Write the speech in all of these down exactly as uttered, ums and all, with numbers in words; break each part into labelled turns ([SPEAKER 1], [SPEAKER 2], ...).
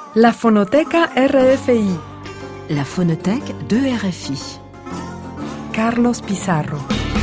[SPEAKER 1] La Fonoteca R F I.
[SPEAKER 2] La Phonothèque de R F I.
[SPEAKER 1] Carlos Pizarro.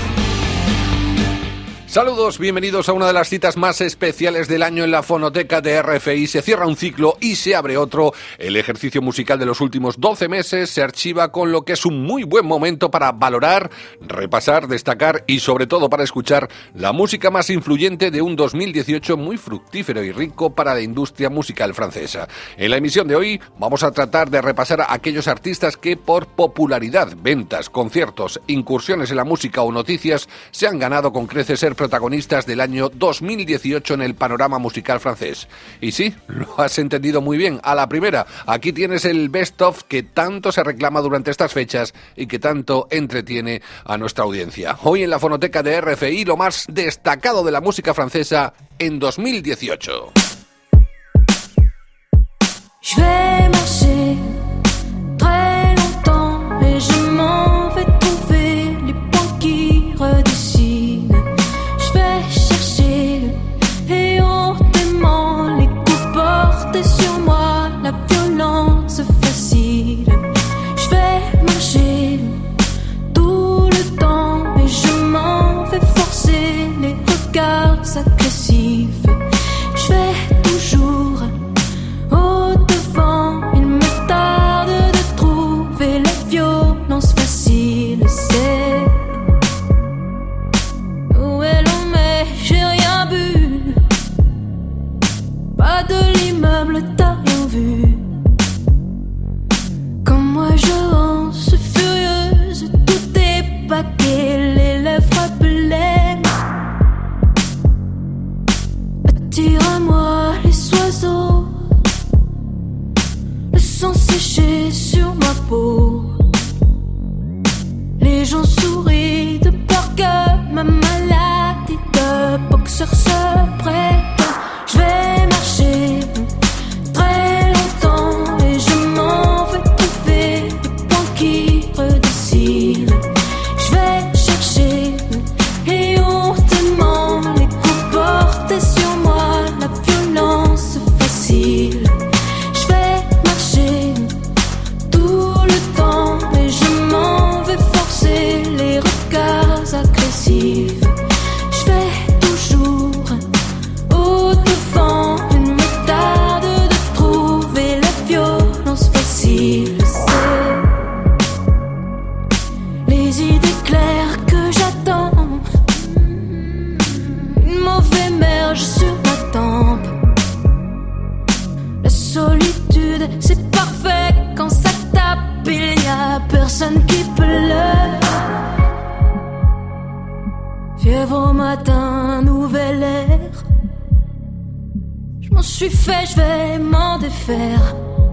[SPEAKER 3] Saludos, bienvenidos a una de las citas más especiales del año en la Fonoteca de R F I. Se cierra un ciclo y se abre otro. El ejercicio musical de los últimos doce meses se archiva con lo que es un muy buen momento para valorar, repasar, destacar y sobre todo para escuchar la música más influyente de un dos mil dieciocho muy fructífero y rico para la industria musical francesa. En la emisión de hoy vamos a tratar de repasar a aquellos artistas que por popularidad, ventas, conciertos, incursiones en la música o noticias se han ganado con creces ser protagonistas del año dos mil dieciocho en el panorama musical francés. Y sí, lo has entendido muy bien, a la primera. Aquí tienes el best of que tanto se reclama durante estas fechas y que tanto entretiene a nuestra audiencia. Hoy en la Fonoteca de R F I, lo más destacado de la música francesa en dos mil dieciocho.
[SPEAKER 4] Je vais marcher très longtemps et je m'en vais trouver les points qui redessinent. Je vais chercher éhontément les coups portés sur moi, la violence facile. Je vais marcher tout le temps et je m'en vais forcer les regards agressifs. Je vais toujours au devant, il me tarde de trouver la violence facile. C'est où est l'on met, j'ai rien vu. Pas de l'immeuble, t'as rien vu. Comme moi je lance furieuse, tout est paquet, les lèvres pleines. Attire à moi les oiseaux, le sang séché sur ma peau. Les gens sourient de peur que ma maladie de boxeur se prête. Je vais marcher très longtemps et je m'en vais trouver les points qui redessinent. Je vais chercher éhontément les coups portés sur moi, la violence facile. Je vais marcher tout le temps et je m'en vais forcer les regards agressifs. Je vais toujours au devant, il me tarde de trouver la violence facile. C'est les idées claires que j'attends, une mauvaise merge sur ma tempe. La solitude, c'est parfait quand ça tape, il n'y a personne qui pleure. Fièvre au matin, nouvel air. Je m'en suis fait, je vais m'en défaire.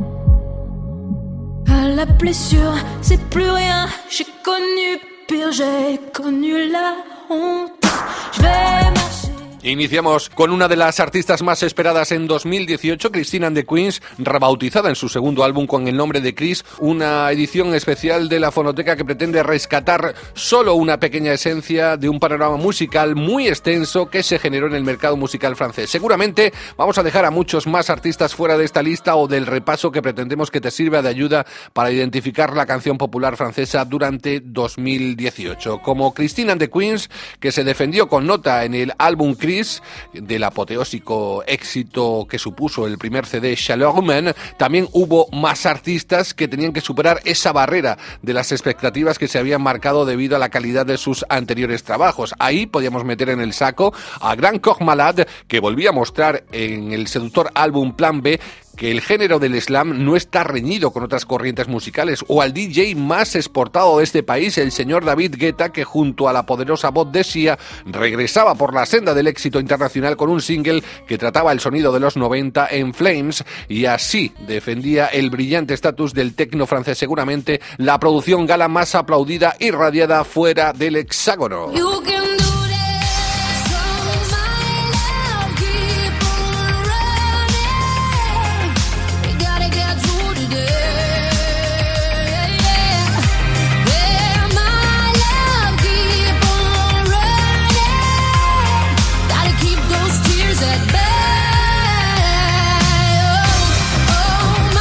[SPEAKER 4] À la blessure, c'est plus rien. J'ai connu pire, j'ai connu la honte. Je vais marcher.
[SPEAKER 3] Iniciamos con una de las artistas más esperadas en dos mil dieciocho, Christine and the Queens, rebautizada en su segundo álbum con el nombre de Chris, una edición especial de la Fonoteca que pretende rescatar solo una pequeña esencia de un panorama musical muy extenso que se generó en el mercado musical francés. Seguramente vamos a dejar a muchos más artistas fuera de esta lista o del repaso que pretendemos que te sirva de ayuda para identificar la canción popular francesa durante dos mil dieciocho, como Christine and the Queens, que se defendió con nota en el álbum Chris, del apoteósico éxito que supuso el primer C D Chaleur Humaine. También hubo más artistas que tenían que superar esa barrera de las expectativas que se habían marcado debido a la calidad de sus anteriores trabajos. Ahí podíamos meter en el saco a Grand Corps Malade, que volvía a mostrar en el seductor álbum Plan B que el género del slam no está reñido con otras corrientes musicales, o al D J más exportado de este país, el señor David Guetta, que junto a la poderosa voz de Sia regresaba por la senda del éxito internacional con un single que trataba el sonido de los noventa en Flames, y así defendía el brillante estatus del tecno francés, seguramente la producción gala más aplaudida y radiada fuera del hexágono.
[SPEAKER 4] Keep those tears at bay. Oh, oh.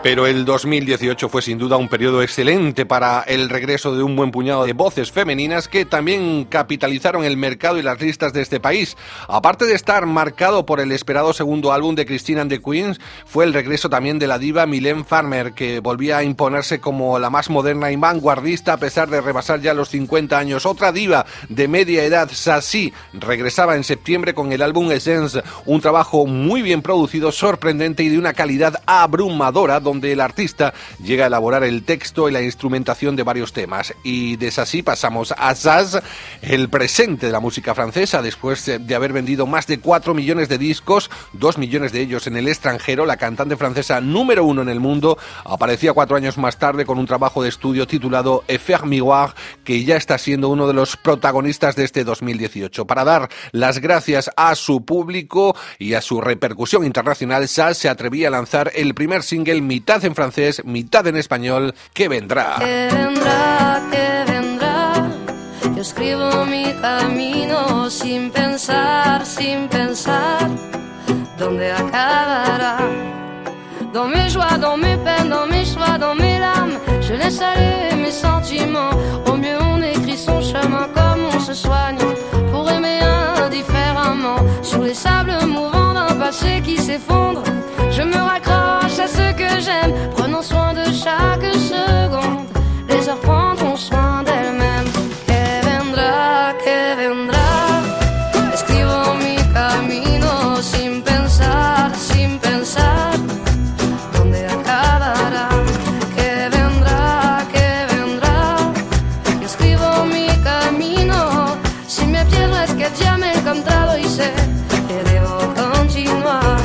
[SPEAKER 3] Pero el dos mil dieciocho fue sin duda un periodo excelente para el regreso de un buen puñado de voces femeninas que también capitalizaron el mercado y las listas de este país. Aparte de estar marcado por el esperado segundo álbum de Christine and the Queens, fue el regreso también de la diva Mylène Farmer, que volvía a imponerse como la más moderna y vanguardista a pesar de rebasar ya los cincuenta años. Otra diva de media edad, Sassy, regresaba en septiembre con el álbum Essence, un trabajo muy bien producido, sorprendente y de una calidad abrumadora, donde donde el artista llega a elaborar el texto y la instrumentación de varios temas. Y de Sassy pasamos a Zaz, el presente de la música francesa, después de haber vendido más de cuatro millones de discos, dos millones de ellos en el extranjero. La cantante francesa número uno en el mundo aparecía cuatro años más tarde con un trabajo de estudio titulado Effet Miroir, que ya está siendo uno de los protagonistas de este dos mil dieciocho. Para dar las gracias a su público y a su repercusión internacional, Zaz se atrevía a lanzar el primer single mitad en francés, mitad en español, que vendrá.
[SPEAKER 4] Que vendrá, que vendrá. Yo escribo mi camino sin pensar, sin pensar dónde acabará. Dans mes joies, dans mes peines, dans mes choix, dans mes larmes, je laisse aller mes sentiments. Au mieux on écrit son chemin comme on se soigne pour aimer indifféremment. Sur les sables mouvants d'un passé qui s'effondre, je me raccroche à ce que j'aime, prenons soin de chaque seconde. Les heures prendront soin d'elles-mêmes. Que vendrá, que vendrá. Escribo mi camino sin pensar, sin pensar dónde acabará. Que vendrá, que vendrá. Escribo mi camino. Si me pierdo es que ya me he encontrado y sé que debo continuar.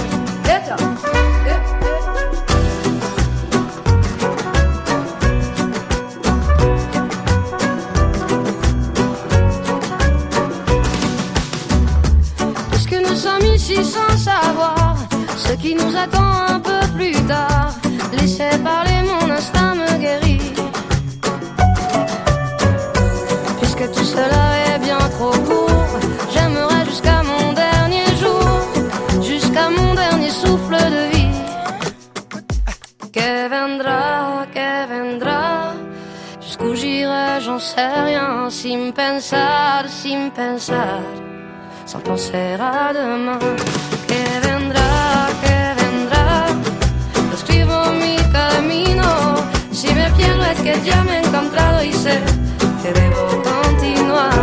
[SPEAKER 4] Sans savoir ce qui nous attend un peu plus tard, laissez parler, mon instinct me guérit. Puisque tout cela est bien trop court, j'aimerais jusqu'à mon dernier jour, jusqu'à mon dernier souffle de vie. Que vendrá, que vendrá, jusqu'où j'irai, j'en sais rien, sin pensar, sin pensar. Sans penser à demain. Que vendrá, que vendrá. Escribo mi camino. Si me pierdo es que ya me he encontrado y sé que debo continuar.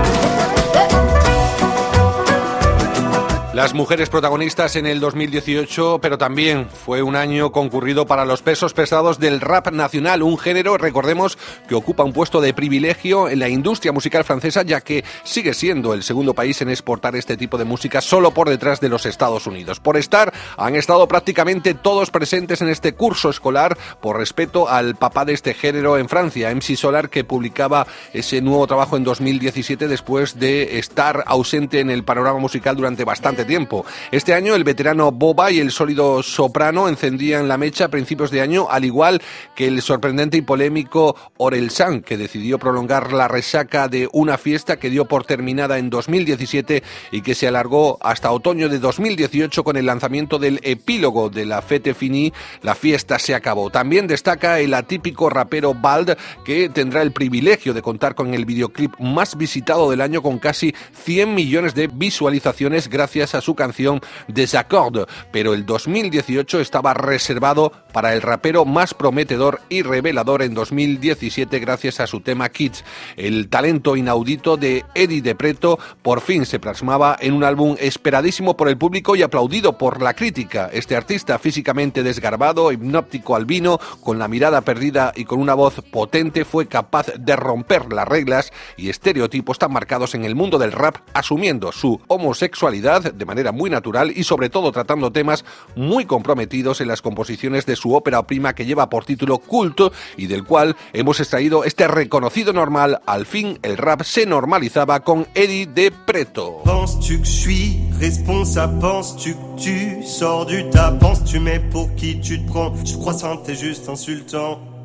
[SPEAKER 3] Las mujeres protagonistas en el dos mil dieciocho, pero también fue un año concurrido para los pesos pesados del rap nacional, un género, recordemos, que ocupa un puesto de privilegio en la industria musical francesa, ya que sigue siendo el segundo país en exportar este tipo de música, solo por detrás de los Estados Unidos. Por estar, han estado prácticamente todos presentes en este curso escolar, por respeto al papá de este género en Francia, M C Solar, que publicaba ese nuevo trabajo en dos mil diecisiete después de estar ausente en el panorama musical durante bastante tiempo. Este año el veterano Boba y el sólido soprano encendían la mecha a principios de año, al igual que el sorprendente y polémico Orelsan, que decidió prolongar la resaca de una fiesta que dio por terminada en dos mil diecisiete y que se alargó hasta otoño de dos mil dieciocho con el lanzamiento del epílogo de la Fête Finie, la fiesta se acabó. También destaca el atípico rapero Bald, que tendrá el privilegio de contar con el videoclip más visitado del año, con casi cien millones de visualizaciones gracias a su canción Desaccord, pero el dos mil dieciocho estaba reservado para el rapero más prometedor y revelador en dos mil diecisiete gracias a su tema Kids. El talento inaudito de Eddie de Preto por fin se plasmaba en un álbum esperadísimo por el público y aplaudido por la crítica. Este artista físicamente desgarbado, hipnóptico albino, con la mirada perdida y con una voz potente, fue capaz de romper las reglas y estereotipos tan marcados en el mundo del rap, asumiendo su homosexualidad de manera muy natural y sobre todo tratando temas muy comprometidos en las composiciones de su ópera prima que lleva por título Culto y del cual hemos extraído este reconocido normal. Al fin el rap se normalizaba con Eddie de Preto.
[SPEAKER 5] Penses-tu que je suis responsable? Penses-tu que tu sors du tas? Penses-tu mais pour qui tu te prends? Je crois ça, t'es juste insultant.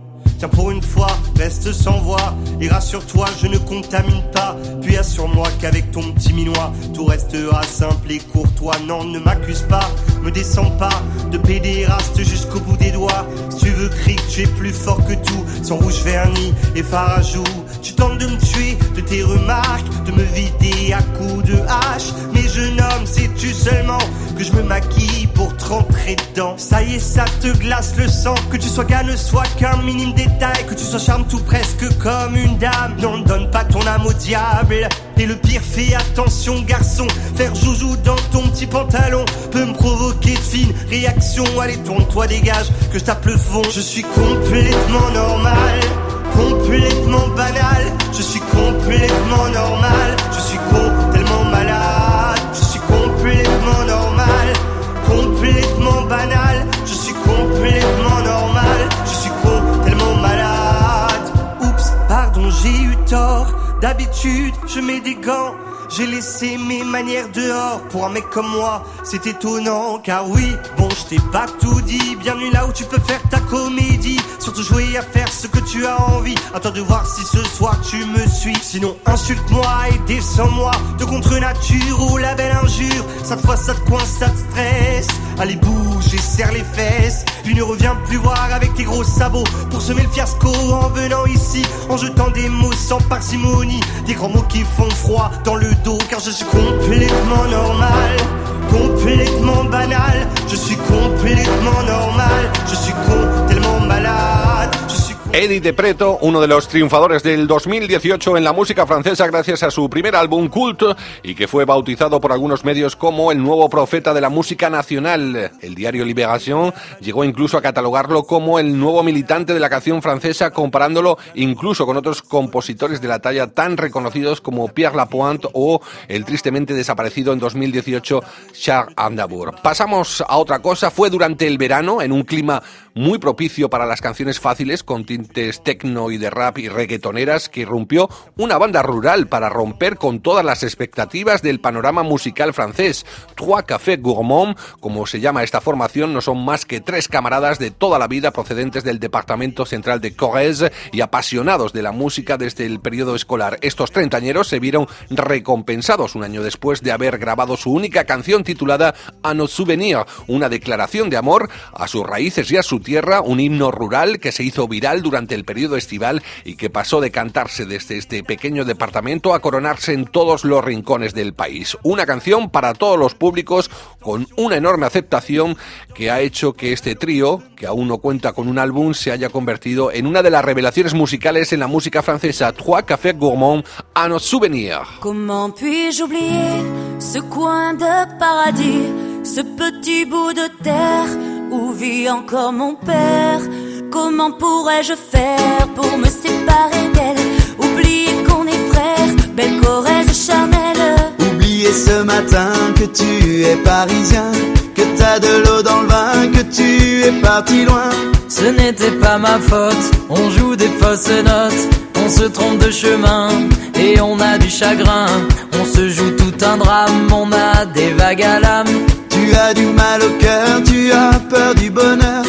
[SPEAKER 5] Tiens, pour une fois, reste sans voix et rassure-toi, je ne contamine pas. Puis assure-moi qu'avec ton petit minois, tout restera simple et courtois. Non, ne m'accuse pas, me descends pas de pédéraste jusqu'au bout des doigts. Si tu veux crier que tu es plus fort que tout, sans rouge vernis et farajou. Tu tentes de me tuer de tes remarques, de me vider à coups de hache. Mais jeune homme, sais-tu seulement que je me maquille pour te rentrer dedans. Ça y est, ça te glace le sang. Que tu sois gars ne soit qu'un minime détail. Que tu sois charme tout presque comme une dame. Non, ne donne pas ton âme au diable. Et le pire, fais attention garçon. Faire joujou dans ton petit pantalon peut me provoquer de fines réactions. Allez, tourne-toi, dégage, que je tape le fond. Je suis complètement normal, complètement banal. Je suis complètement normal. Je suis con, tellement malade. Je suis complètement normal, complètement banal. Je suis complètement normal. Je suis con, tellement malade. Oups, pardon, j'ai eu tort. D'habitude, je mets des gants. J'ai laissé mes manières dehors. Pour un mec comme moi, c'est étonnant. Car oui, bon, je t'ai pas tout dit. Bienvenue là où tu peux faire ta comédie. Surtout jouer à faire ce que tu as envie. À toi de voir si ce soir tu me suis. Sinon insulte-moi et descends-moi de contre nature ou la belle injure. Cette fois ça te coince, ça te stresse. Allez bouge et serre les fesses. Puis ne reviens plus voir avec tes gros sabots pour semer le fiasco en venant ici. En jetant des mots sans parcimonie. Des grands mots qui font froid dans le dos. Car je suis complètement normal, complètement banal. Je suis complètement normal. Je suis con, tellement malade. Je suis
[SPEAKER 3] Eddie de Preto, uno de los triunfadores del dos mil dieciocho en la música francesa gracias a su primer álbum Cult y que fue bautizado por algunos medios como el nuevo profeta de la música nacional. El diario Libération llegó incluso a catalogarlo como el nuevo militante de la canción francesa, comparándolo incluso con otros compositores de la talla tan reconocidos como Pierre Lapointe o el tristemente desaparecido en dos mil dieciocho Charles Aznavour. Pasamos a otra cosa. Fue durante el verano, en un clima muy propicio para las canciones fáciles con tintes techno y de rap y reggaetoneras, que irrumpió una banda rural para romper con todas las expectativas del panorama musical francés. Trois Cafés Gourmands, como se llama esta formación, no son más que tres camaradas de toda la vida procedentes del departamento central de Corrèze y apasionados de la música desde el periodo escolar. Estos treintañeros se vieron recompensados un año después de haber grabado su única canción titulada A nos souvenir, una declaración de amor a sus raíces y a su tierra, un himno rural que se hizo viral durante el periodo estival y que pasó de cantarse desde este pequeño departamento a coronarse en todos los rincones del país. Una canción para todos los públicos con una enorme aceptación que ha hecho que este trío, que aún no cuenta con un álbum, se haya convertido en una de las revelaciones musicales en la música francesa. Trois Cafés Gourmands, A nos souvenir.
[SPEAKER 4] Comment puis-je oublier ce coin de paradis, ce petit bout de terre où vit encore mon père? Comment pourrais-je faire pour me séparer d'elle? Oublier qu'on est frères, belle Corrèze charnelle.
[SPEAKER 6] Oublier ce matin que tu es parisien, que t'as de l'eau dans le vin, que tu es parti loin.
[SPEAKER 7] Ce n'était pas ma faute, on joue des fausses notes, on se trompe de chemin et on a du chagrin. On se joue tout un drame, on a des vagues à l'âme.
[SPEAKER 6] Tu as du mal au cœur, tu as peur du bonheur.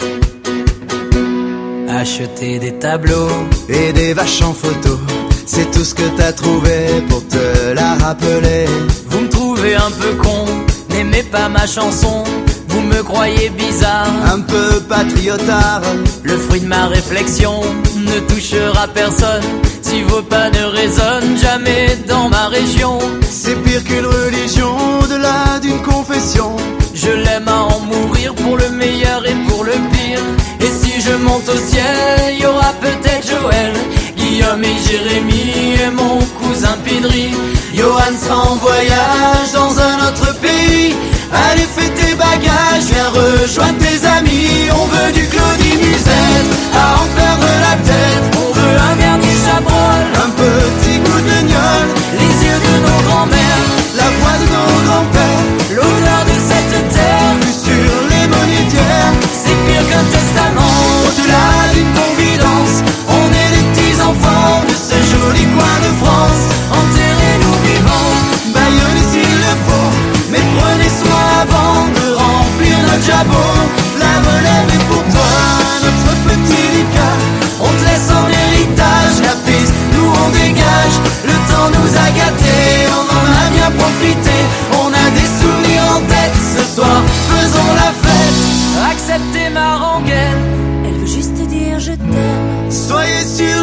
[SPEAKER 7] Acheter des tableaux
[SPEAKER 6] et des vaches en photo, c'est tout ce que t'as trouvé pour te la rappeler.
[SPEAKER 7] Vous me trouvez un peu con, n'aimez pas ma chanson. Vous me croyez bizarre,
[SPEAKER 6] un peu patriotard.
[SPEAKER 7] Le fruit de ma réflexion ne touchera personne si vos pas ne résonnent jamais dans ma région.
[SPEAKER 6] C'est pire qu'une religion, au-delà d'une confession.
[SPEAKER 7] Je l'aime à en mourir pour le meilleur et pour le pire. Et si je monte au ciel, y aura peut-être Joël, Guillaume et Jérémy et mon cousin Pidri.
[SPEAKER 6] Johan sera en voyage dans un autre pays. Allez fais tes bagages, viens rejoindre tes amis. On veut du Claudie Musette, à en perdre la tête.
[SPEAKER 7] On veut un dernier chabrol,
[SPEAKER 6] un petit goût de gnôle,
[SPEAKER 7] les yeux de nos grands-mères,
[SPEAKER 6] la voix de nos grands-pères,
[SPEAKER 7] l'odeur de cette terre
[SPEAKER 6] sur les monétières.
[SPEAKER 7] C'est pire qu'un testament,
[SPEAKER 6] au-delà d'une confidence.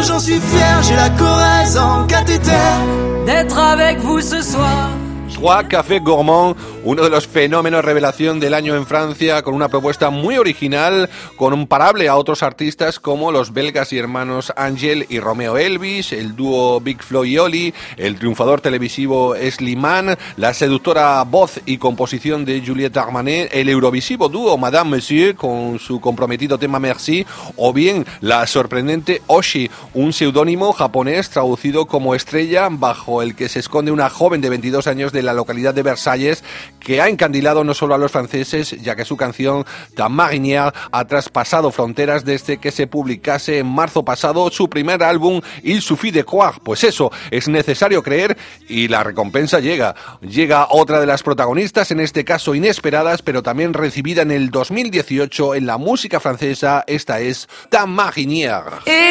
[SPEAKER 6] surtout j'en suis fier, j'ai la Corrèze en cathéter.
[SPEAKER 7] D'être avec vous ce soir.
[SPEAKER 3] Trois Café Gourmand, uno de los fenómenos revelación del año en Francia, con una propuesta muy original, comparable a otros artistas como los belgas y hermanos Angel y Romeo Elvis, el dúo Big Flo y Oli, el triunfador televisivo Slimane, la seductora voz y composición de Juliette Armanet, el eurovisivo dúo Madame Monsieur con su comprometido tema Merci, o bien la sorprendente Oshi, un seudónimo japonés traducido como estrella, bajo el que se esconde una joven de veintidós años de la localidad de Versalles, que ha encandilado no solo a los franceses, ya que su canción Ta Marinière ha traspasado fronteras desde que se publicase en marzo pasado su primer álbum Il suffit de croire. Pues eso, es necesario creer y la recompensa llega. Llega otra de las protagonistas, en este caso inesperadas, pero también recibida en el dos mil dieciocho en la música francesa. Esta es Ta Marinière.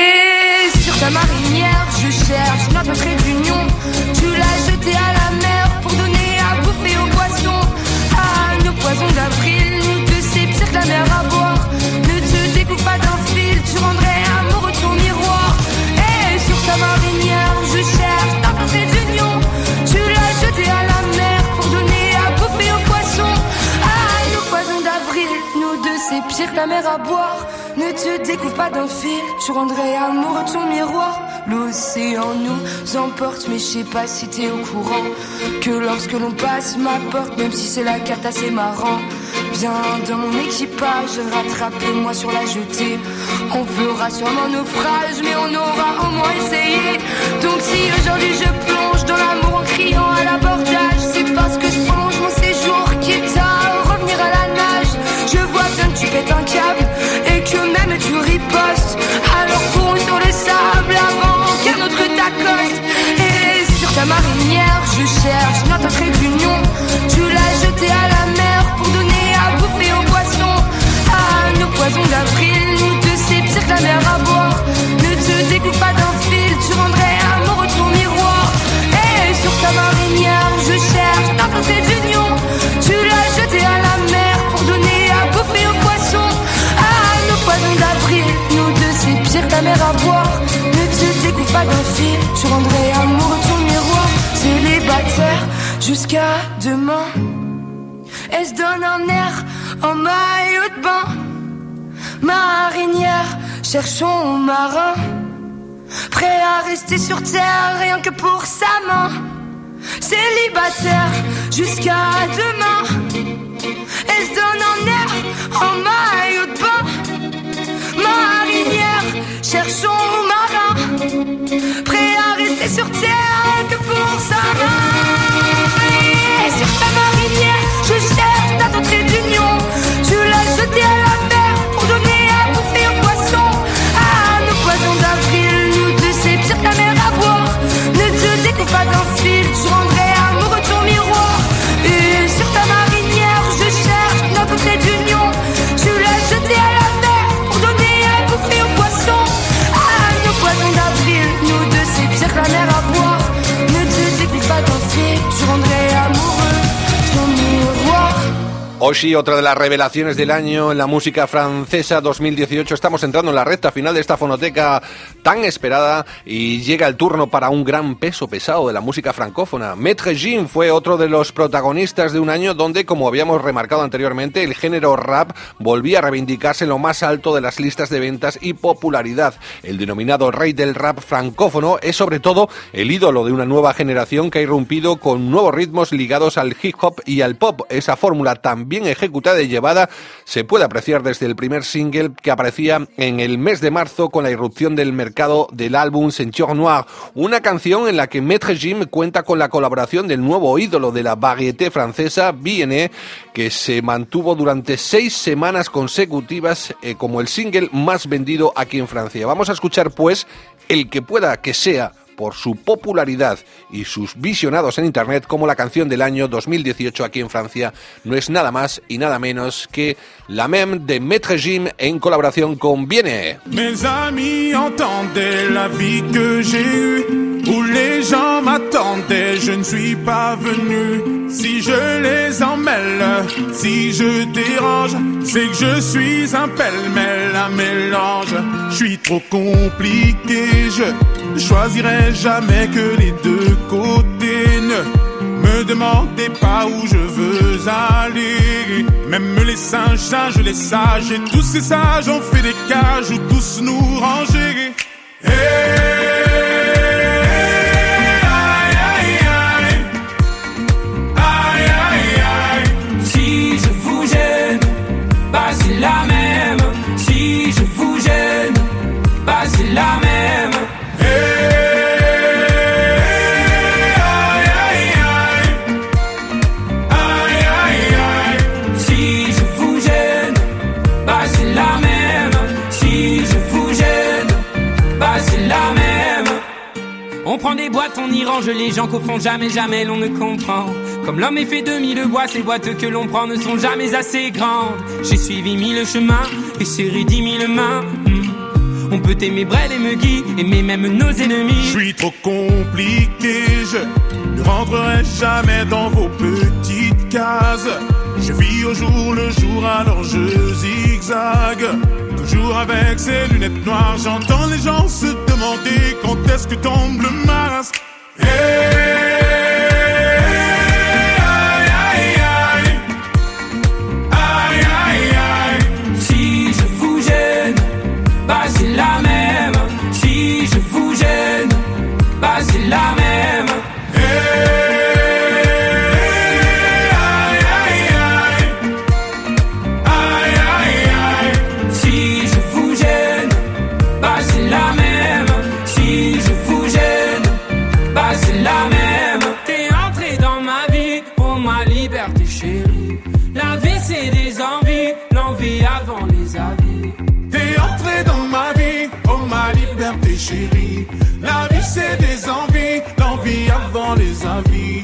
[SPEAKER 4] Et sur ta marinière, je cherche notre trait d'union. Tu l'as jeté à la mer pour donner à bouffer aux poissons. À nos poisons d'avril, nous deux c'est pire que la mer à boire. Ne te découpe pas d'un fil, tu rendrais amoureux ton miroir. Et sur ta marinière, je cherche notre trait d'union. Tu l'as jeté à la mer pour donner à bouffer aux poissons. À nos poisons d'avril, nous deux c'est pire que la mer à boire. Ne te découvre pas d'un fil, tu rendrais amoureux ton miroir. L'océan nous emporte, mais je sais pas si t'es au courant que lorsque l'on passe ma porte, même si c'est la carte assez marrant, viens dans mon équipage, rattrapez-moi sur la jetée. On fera sûrement naufrage, mais on aura au moins essayé. Donc si aujourd'hui je plonge dans l'amour en criant à l'abordage, c'est parce que je prolonge mon séjour, quitte à revenir à la nage. Je vois bien que tu pètes un câble et que même tu ripostes. Alors cours sur le sable avant qu'un autre t'accoste. Et sur ta marinière, je cherche notre trait d'union. Tu l'as jeté à la mer pour donner à bouffer aux poissons. À nos poisons d'avril, nous deux c'est pire que la mer à boire. Ne te découpe pas d'un fil, tu rendrais amoureux ton miroir. Et sur ta marinière, je cherche notre trait d'union. Tu l'as jeté à la mer pour donner à bouffer aux poissons. À nos poisons d'avril, nous deux c'est pire que la mer à boire. Ne te découpe pas d'un fil, tu rendrais amoureux ton miroir. Célibataire jusqu'à demain, elle se donne un air en maillot de bain. Marinière, cherchons marin, prêt à rester sur terre rien que pour sa main. Célibataire jusqu'à demain, elle se donne un air en maillot de bain. Marinière, cherchons marin, prêt à rester sur terre que pour sa main. Et sur ta marinière, je cherche ta trait d'union. Tu l'as jeté à la mer pour donner à bouffer aux poissons. À nos poisons d'avril, nous deux c'est pire que la mer à boire. Ne te découpe pas d'un fil, tu rendrais amoureux ton miroir. Et sur ta marinière, je cherche notre trait d'union. Tu l'as jeté à la mer pour donner à bouffer aux poissons. À nos poisons d'avril, nous deux c'est pire que la mer à boire. Ne te découpe pas d'un fil, tu rendrais amoureux ton miroir.
[SPEAKER 3] Oshi, otra de las revelaciones del año en la música francesa dos mil dieciocho. Estamos entrando en la recta final de esta fonoteca tan esperada y llega el turno para un gran peso pesado de la música francófona. Maître Gims fue otro de los protagonistas de un año donde, como habíamos remarcado anteriormente, el género rap volvía a reivindicarse en lo más alto de las listas de ventas y popularidad. El denominado rey del rap francófono es sobre todo el ídolo de una nueva generación que ha irrumpido con nuevos ritmos ligados al hip hop y al pop. Esa fórmula también bien ejecutada y llevada se puede apreciar desde el primer single que aparecía en el mes de marzo con la irrupción del mercado del álbum Ceinture Noire, una canción en la que Maître Gims cuenta con la colaboración del nuevo ídolo de la variété francesa, B N E, que se mantuvo durante seis semanas consecutivas eh, como el single más vendido aquí en Francia. Vamos a escuchar pues el que pueda que sea, por su popularidad y sus visionados en internet, como la canción del año dos mil dieciocho aquí en Francia no es nada más y nada menos que La Même de Maître Gims en colaboración con B N E.
[SPEAKER 8] Mes amis entendaient la vie que j'ai eue, où les gens m'attendaient, je ne suis pas venu. Si je les emmêle, si je dérange, c'est que je suis un pêle-mêle, un mélange. Je suis trop compliqué, je choisirai jamais que les deux côtés. Ne me demandez pas où je veux aller. Même les singes, singes, les sages, et tous ces sages ont fait des cages où tous nous ranger. Hey!
[SPEAKER 9] C'est la même, si je vous gêne, bah c'est la même. Hey, aïe, aïe, aïe, aïe, aïe, aïe. Si je vous gêne, bah c'est la même. Si je vous gêne, bah c'est la même. On prend des boîtes, on y range les gens qu'au fond jamais, jamais l'on ne comprend. Comme l'homme est fait de mille bois, ces boîtes que l'on prend ne sont jamais assez grandes. J'ai suivi mille chemins et serré dix mille mains. mmh. On peut aimer Brel et Megui, aimer même nos ennemis.
[SPEAKER 8] Je suis trop compliqué, je ne rentrerai jamais dans vos petites cases. Je vis au jour le jour, alors je zigzague. Toujours avec ces lunettes noires, j'entends les gens se demander quand est-ce que tombe le masque. Hey!
[SPEAKER 9] C'est la même, si je vous gêne, bah c'est la même. Hey, aïe, aïe, aïe, aïe, aïe, aïe. Si je vous gêne, bah c'est la même. Si je vous gêne, bah c'est la même. T'es entré dans ma vie, pour ma liberté chérie. La vie c'est des envies, l'envie avant les avis.
[SPEAKER 8] T'es entré dans ma vie, oh ma liberté chérie. La vie c'est des envies, l'envie avant les avis.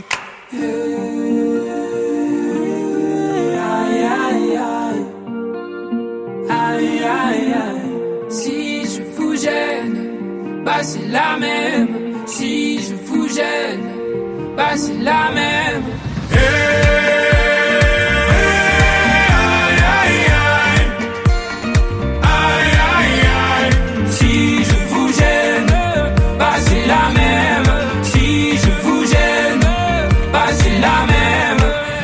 [SPEAKER 9] Aïe, aïe, aïe, aïe, aïe, aïe. Si je vous gêne, bah c'est la même. Si je vous gêne, bah c'est la même. Hey! La même, si je vous gêne, bah c'est la même.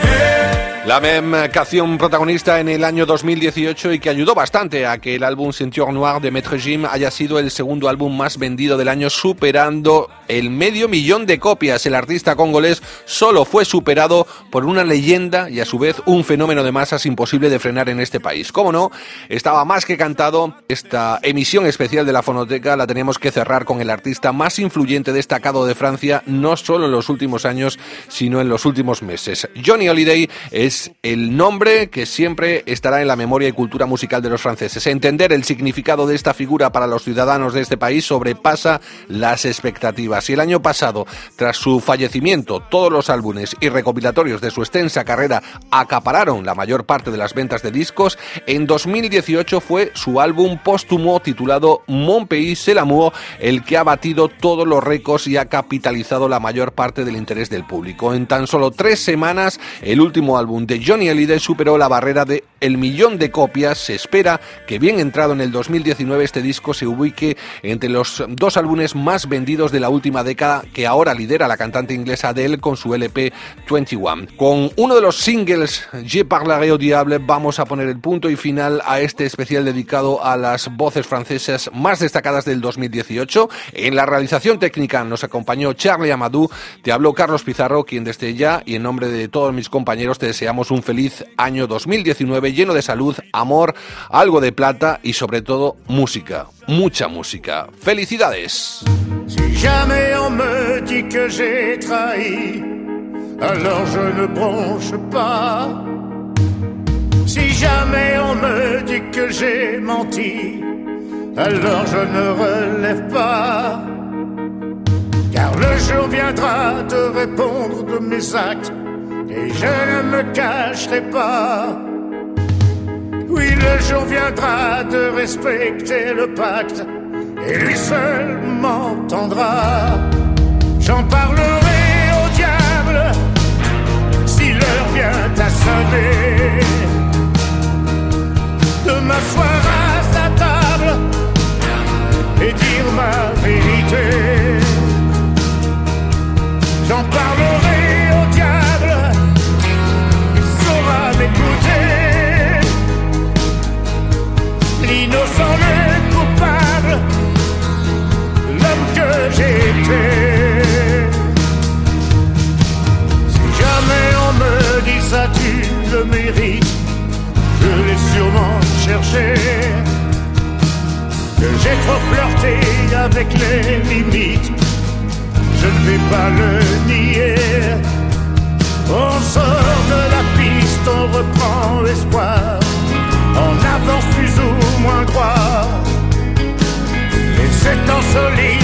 [SPEAKER 9] Hey.
[SPEAKER 3] La même canción protagonista en el año dos mil dieciocho y que ayudó bastante a que el álbum Ceinture Noire de Maître Gim haya sido el segundo álbum más vendido del año, superando el medio millón de copias. El artista congolés solo fue superado por una leyenda y a su vez un fenómeno de masas imposible de frenar en este país. Cómo no, estaba más que cantado. Esta emisión especial de la Fonoteca la teníamos que cerrar con el artista más influyente destacado de Francia, no solo en los últimos años, sino en los últimos meses. Johnny Hallyday es el nombre que siempre estará en la memoria y cultura musical de los franceses. Entender el significado de esta figura para los ciudadanos de este país sobrepasa las expectativas. Y el año pasado, tras su fallecimiento, todos los álbumes y recopilatorios de su extensa carrera acapararon la mayor parte de las ventas de discos. En dos mil dieciocho fue su álbum póstumo titulado Mon Pays c'est l'amour el que ha batido todos los récords y ha capitalizado la mayor parte del interés del público. En tan solo tres semanas, el último álbum de Johnny Hallyday superó la barrera de el millón de copias. Se espera que, bien entrado en el dos mil diecinueve, este disco se ubique entre los dos álbumes más vendidos de la última década, que ahora lidera la cantante inglesa Adele con su L P veintiuno. Con uno de los singles, Je parlerai au diable, vamos a poner el punto y final a este especial dedicado a las voces francesas más destacadas del dos mil dieciocho. En la realización técnica nos acompañó Charlie Amadou. Te habló Carlos Pizarro, quien desde ya y en nombre de todos mis compañeros te deseamos un feliz año dos mil diecinueve lleno de salud, amor, algo de plata y sobre todo música, mucha música. ¡Felicidades!
[SPEAKER 10] Si jamais on me dit que j'ai trahi, alors je ne bronche pas. Si jamais on me dit que j'ai menti, alors je ne relève pas. Car le jour viendra de répondre de mes actes, et je ne me cacherai pas. Oui, le jour viendra de respecter le pacte, et lui seul m'entendra. avec les limites, je ne vais pas le nier. On sort de la piste, on reprend espoir, on avance plus ou moins droit, et c'est en solide